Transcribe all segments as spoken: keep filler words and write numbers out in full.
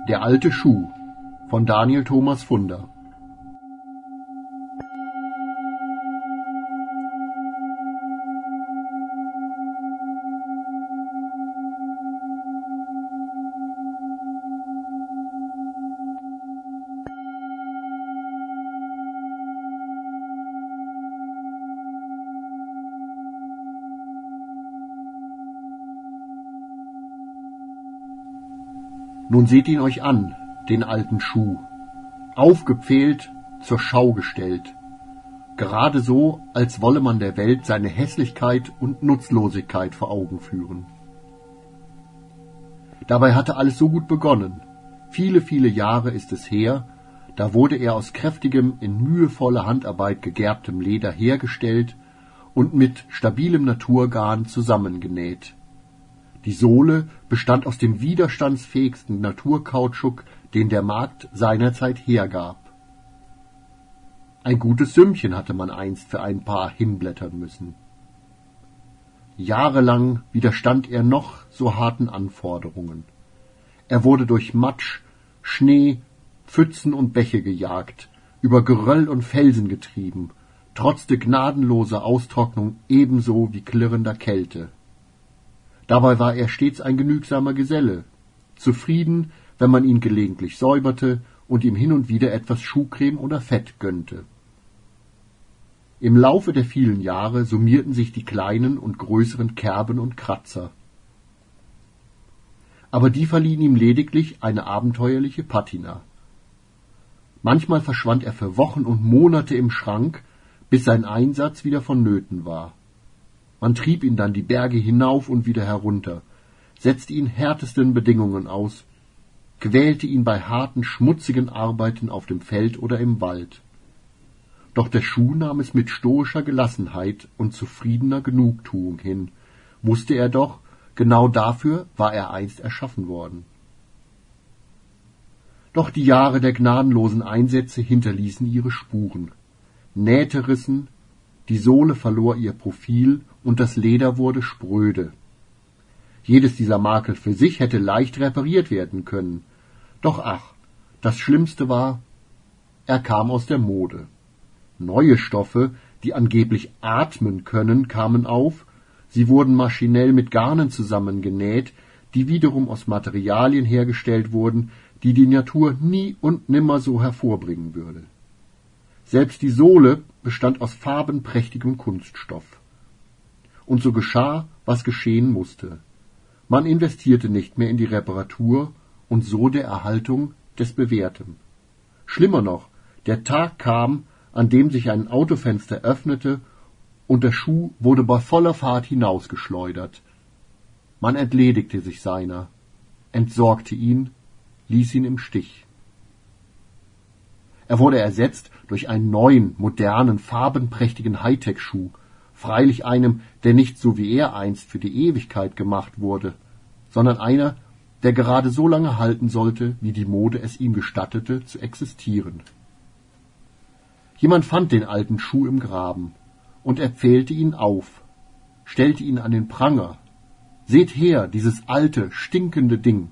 Der alte Schuh von Daniel Thomas Funder. Nun seht ihn euch an, den alten Schuh, aufgepfählt, zur Schau gestellt, gerade so, als wolle man der Welt seine Hässlichkeit und Nutzlosigkeit vor Augen führen. Dabei hatte alles so gut begonnen. Viele, viele Jahre ist es her, da wurde er aus kräftigem, in mühevoller Handarbeit gegerbtem Leder hergestellt und mit stabilem Naturgarn zusammengenäht. Die Sohle bestand aus dem widerstandsfähigsten Naturkautschuk, den der Markt seinerzeit hergab. Ein gutes Sümmchen hatte man einst für ein Paar hinblättern müssen. Jahrelang widerstand er noch so harten Anforderungen. Er wurde durch Matsch, Schnee, Pfützen und Bäche gejagt, über Geröll und Felsen getrieben, trotzte gnadenloser Austrocknung ebenso wie klirrender Kälte. Dabei war er stets ein genügsamer Geselle, zufrieden, wenn man ihn gelegentlich säuberte und ihm hin und wieder etwas Schuhcreme oder Fett gönnte. Im Laufe der vielen Jahre summierten sich die kleinen und größeren Kerben und Kratzer. Aber die verliehen ihm lediglich eine abenteuerliche Patina. Manchmal verschwand er für Wochen und Monate im Schrank, bis sein Einsatz wieder vonnöten war. Man trieb ihn dann die Berge hinauf und wieder herunter, setzte ihn härtesten Bedingungen aus, quälte ihn bei harten, schmutzigen Arbeiten auf dem Feld oder im Wald. Doch der Schuh nahm es mit stoischer Gelassenheit und zufriedener Genugtuung hin, wusste er doch, genau dafür war er einst erschaffen worden. Doch die Jahre der gnadenlosen Einsätze hinterließen ihre Spuren. Nähte rissen, die Sohle verlor ihr Profil und das Leder wurde spröde. Jedes dieser Makel für sich hätte leicht repariert werden können. Doch ach, das Schlimmste war, er kam aus der Mode. Neue Stoffe, die angeblich atmen können, kamen auf, sie wurden maschinell mit Garnen zusammengenäht, die wiederum aus Materialien hergestellt wurden, die die Natur nie und nimmer so hervorbringen würde. Selbst die Sohle bestand aus farbenprächtigem Kunststoff. Und so geschah, was geschehen musste. Man investierte nicht mehr in die Reparatur und so der Erhaltung des Bewährten. Schlimmer noch, der Tag kam, an dem sich ein Autofenster öffnete und der Schuh wurde bei voller Fahrt hinausgeschleudert. Man entledigte sich seiner, entsorgte ihn, ließ ihn im Stich. Er wurde ersetzt durch einen neuen, modernen, farbenprächtigen Hightech-Schuh, freilich einem, der nicht so wie er einst für die Ewigkeit gemacht wurde, sondern einer, der gerade so lange halten sollte, wie die Mode es ihm gestattete, zu existieren. Jemand fand den alten Schuh im Graben, und er pfählte ihn auf, stellte ihn an den Pranger. Seht her, dieses alte, stinkende Ding.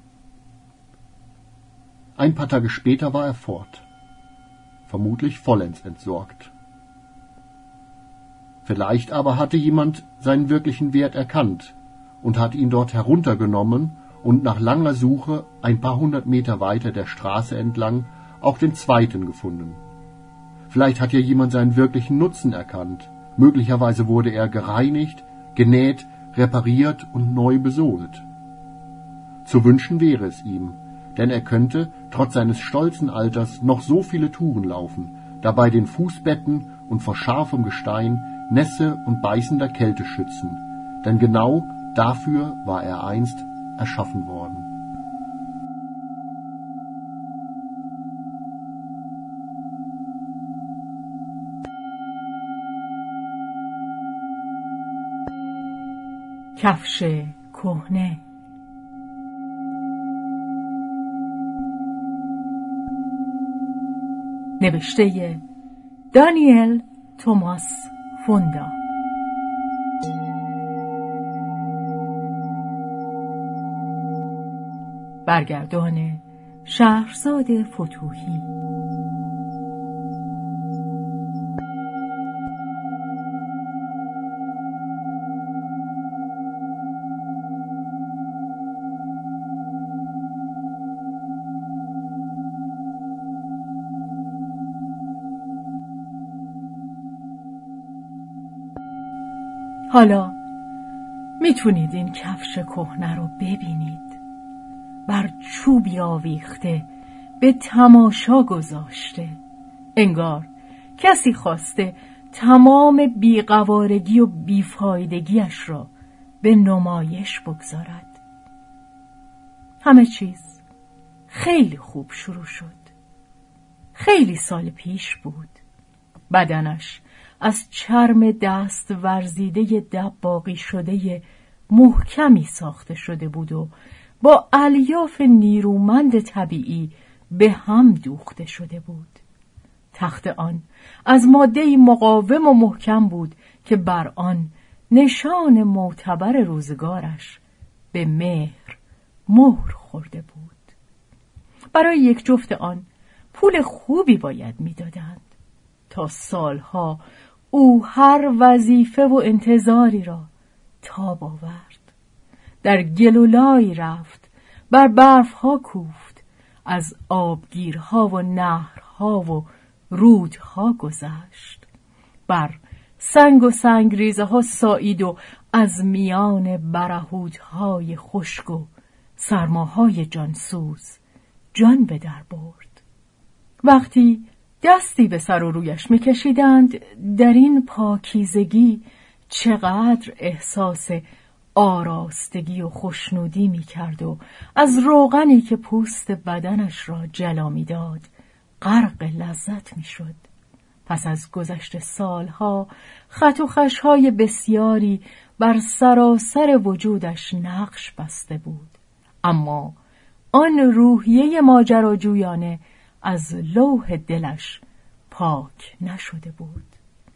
Ein paar Tage später war er fort, vermutlich vollends entsorgt. Vielleicht aber hatte jemand seinen wirklichen Wert erkannt und hat ihn dort heruntergenommen und nach langer Suche ein paar hundert Meter weiter der Straße entlang auch den zweiten gefunden. Vielleicht hat ja jemand seinen wirklichen Nutzen erkannt. Möglicherweise wurde er gereinigt, genäht, repariert und neu besohlt. Zu wünschen wäre es ihm, denn er könnte, trotz seines stolzen Alters, noch so viele Touren laufen, dabei den Fußbetten und vor scharfem Gestein, Nässe und beißender Kälte schützen, denn genau dafür war er einst erschaffen worden. کفش کهنه. نوشته دانیل توماس فوندا. برگردان شهرزاد فتوحی. حالا میتونید این کفش کهنه رو ببینید. بر چوبی آویخته به تماشا گذاشته. انگار کسی خواسته تمام بیقوارگی و بیفایدگیش را به نمایش بگذارد. همه چیز خیلی خوب شروع شد. خیلی سال پیش بود. بدنش از چرم دست ورزیده دباغی شده محکمی ساخته شده بود و با الیاف نیرومند طبیعی به هم دوخته شده بود. تخت آن از ماده‌ای مقاوم و محکم بود که بر آن نشان معتبر روزگارش به مهر مهر خورده بود. برای یک جفت آن پول خوبی باید می‌دادند. تا سالها او هر وظیفه و انتظاری را تاب آورد. در گلولای رفت، بر برفها کوفت، از آبگیرها و نهرها و رودها گذشت، بر سنگ و سنگریزه ها سایید و از میان برهودهای خشک و سرماهای جانسوز جان به در برد. وقتی دستی به سر و رویش می‌کشیدند، در این پاکیزگی چقدر احساس آراستگی و خوشنودی می‌کرد و از روغنی که پوست بدنش را جلا می‌داد غرق لذت می‌شد. پس از گذشت سالها خط و خش‌های بسیاری بر سراسر وجودش نقش بسته بود، اما آن روحیه ماجراجویانه از لوح دلش پاک نشده بود.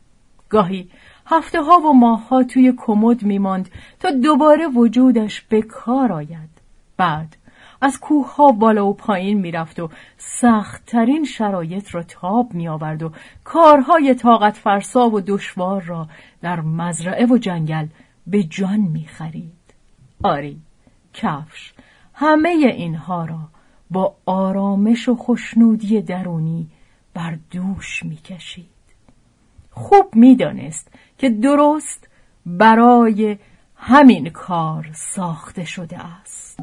گاهی هفته ها و ماه ها توی کمد میماند تا دوباره وجودش به کار آید. بعد از کوه ها بالا و پایین میرفت و سخت‌ترین شرایط را تاب می آورد و کارهای طاقت فرسا و دشوار را در مزرعه و جنگل به جان می خرید. آری، کفش همه اینها را با آرامش و خوشنودی درونی بر دوش می کشید. خوب می دانست که درست برای همین کار ساخته شده است.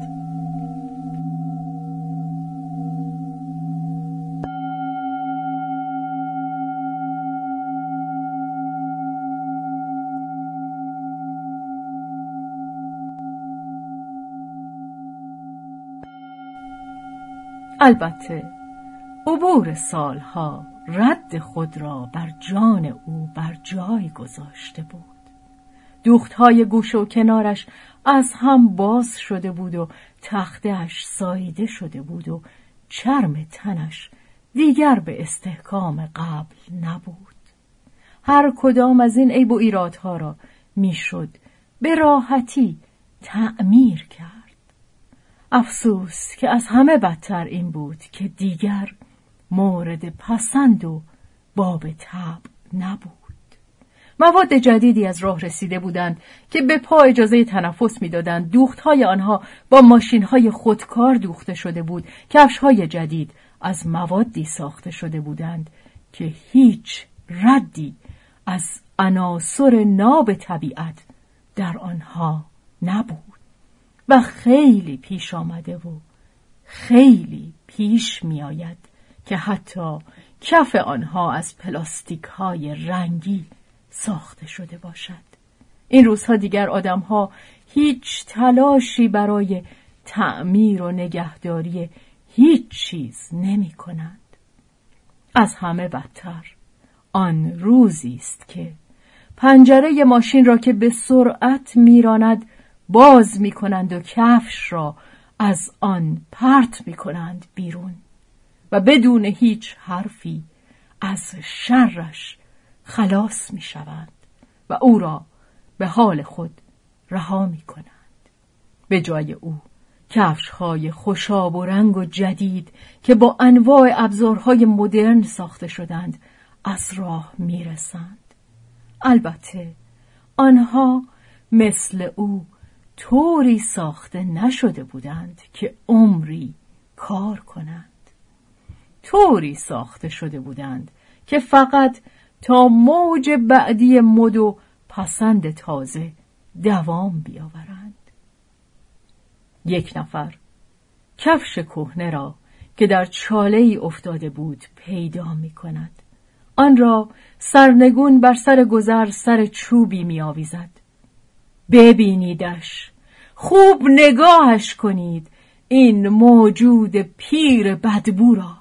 البته عبور سالها رد خود را بر جان او بر جای گذاشته بود. دوختهای گوشه و کنارش از هم باز شده بود و تخته‌اش ساییده شده بود و چرم تنش دیگر به استحکام قبل نبود. هر کدام از این عیب و ایرادها را میشد به راحتی تعمیر کرد. افسوس که از همه بدتر این بود که دیگر مورد پسند و باب طبع نبود. مواد جدیدی از راه رسیده بودند که به پا اجازه تنفس می‌دادند. دوخت‌های آنها با ماشین‌های خودکار دوخته شده بود. کفش‌های جدید از موادی ساخته شده بودند که هیچ ردی از عناصر ناب طبیعت در آنها نبود و خیلی پیش آمده و خیلی پیش می آید که حتی کف آنها از پلاستیک های رنگی ساخته شده باشد. این روزها دیگر آدمها هیچ تلاشی برای تعمیر و نگهداری هیچ چیز نمی کنند. از همه بدتر آن روزی است که پنجره ماشین را که به سرعت میراند باز می کنند و کفش را از آن پرت می کنند بیرون و بدون هیچ حرفی از شرش خلاص می شوند و او را به حال خود رها می کنند. به جای او کفش‌های خوشاب و رنگ و جدید که با انواع ابزارهای مدرن ساخته شدند از راه میرسند. البته آنها مثل او طوری ساخته نشده بودند که عمری کار کنند. طوری ساخته شده بودند که فقط تا موج بعدی مد و پسند تازه دوام بیاورند. یک نفر کفش کهنه را که در چاله‌ای افتاده بود پیدا می کند. آن را سرنگون بر سر گذر سر چوبی می آویزد. ببینیدش، خوب نگاهش کنید، این موجود پیر بدبو را.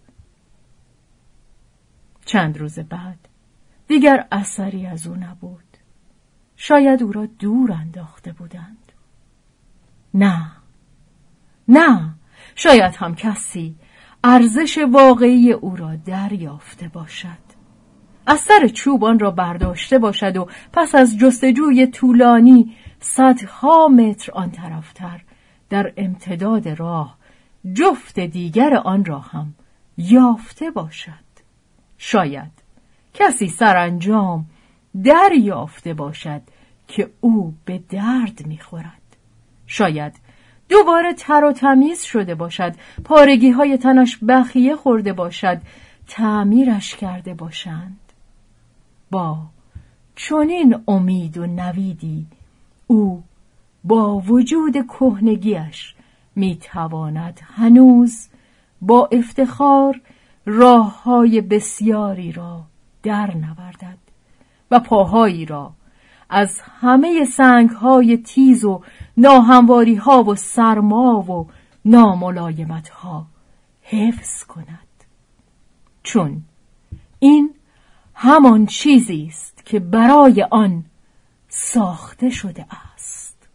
چند روز بعد دیگر اثری از او نبود. شاید او را دور انداخته بودند. نه، نه، شاید هم کسی ارزش واقعی او را دریافته باشد. از سر چوب آن را برداشته باشد و پس از جستجوی طولانی صدها متر آن طرفتر در امتداد راه جفت دیگر آن را هم یافته باشد. شاید کسی سرانجام دریافته باشد که او به درد می‌خورد. شاید دوباره تر و تمیز شده باشد، پارگی های تنش بخیه خورده باشد، تعمیرش کرده باشند. با چنین امید و نویدی او با وجود کهنگیش میتواند هنوز با افتخار راه‌های بسیاری را در نوردد و پاهایی را از همه سنگ‌های تیز و ناهمواری‌ها و سرما و ناملایمت‌ها حفظ کند. چون این همان چیزی است که برای آن ساخته شده است.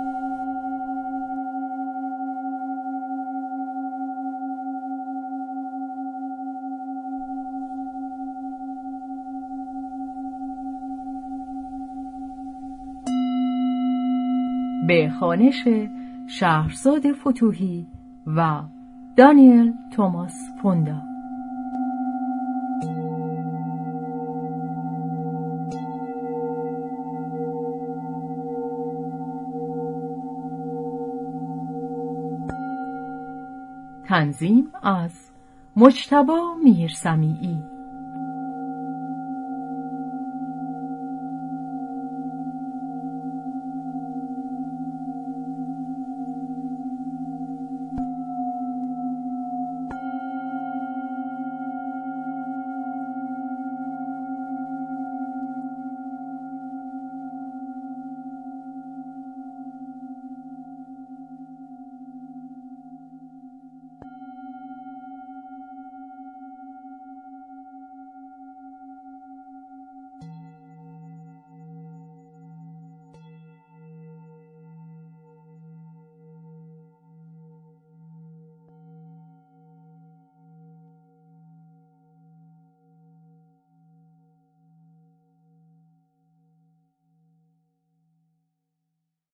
به خوانش شهرزاد فتوحی و دانیل توماس پوندا. تنظیم از مجتبی میرسمیعی.